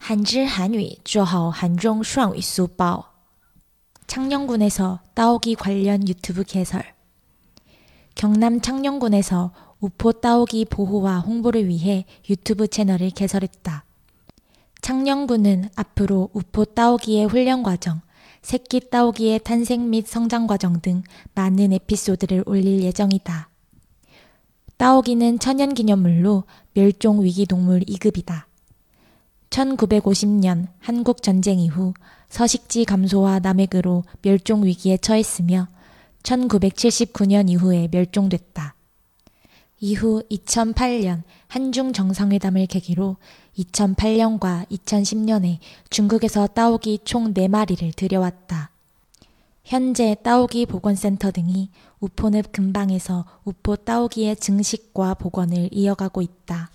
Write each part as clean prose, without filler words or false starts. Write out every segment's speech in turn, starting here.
한질 한위 쪼하오 한종 수학위 수법 창녕군에서 따오기 관련 유튜브 개설 경남 창녕군에서 우포 따오기 보호와 홍보를 위해 유튜브 채널을 개설했다. 창녕군은 앞으로 우포 따오기의 훈련 과정, 새끼 따오기의 탄생 및 성장 과정 등 많은 에피소드를 올릴 예정이다. 따오기는 천연기념물로 멸종위기동물 2급이다. 1950년 한국전쟁 이후 서식지 감소와 남획으로 멸종위기에 처했으며 1979년 이후에 멸종됐다. 이후 2008년 한중 정상회담을 계기로 2008년과 2010년에 중국에서 따오기 총 4마리를 들여왔다. 현재 따오기 복원센터 등이 우포늪 근방에서 우포 따오기의 증식과 복원을 이어가고 있다.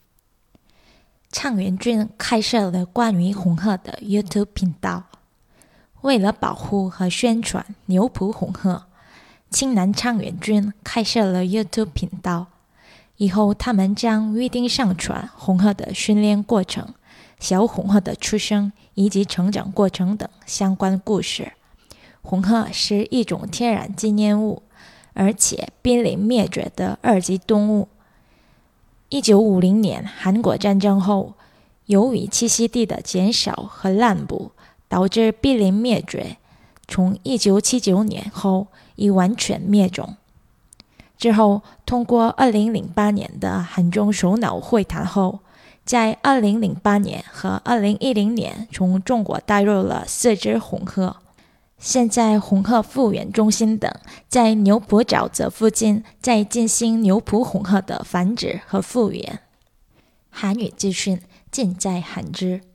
昌原郡开设了关于红鹤的 YouTube 频道。为了保护和宣传牛埔红鹤，青南昌原郡开设了 YouTube 频道。以后他们将预定上传红鹤的训练过程、小红鹤的出生以及成长过程等相关故事。红鹤是一种天然纪念物，而且濒临灭绝的2级动物。1950年韩国战争后，由于栖息地的减少和滥捕，导致濒临灭绝。从1979年后已完全灭种。之后，通过2008年的韩中首脑会谈后，在2008年和2010年从中国带入了4只红鹤。现在红鹤复原中心等在牛埔沼泽附近在进行牛埔红鹤的繁殖和复原。韩语资讯尽在韩知。